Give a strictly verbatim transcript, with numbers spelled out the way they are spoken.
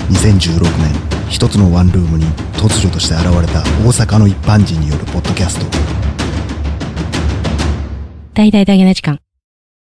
にせんじゅうろくねん、一つのワンルームに突如として現れた大阪の一般人によるポッドキャスト。 大々だけな時間。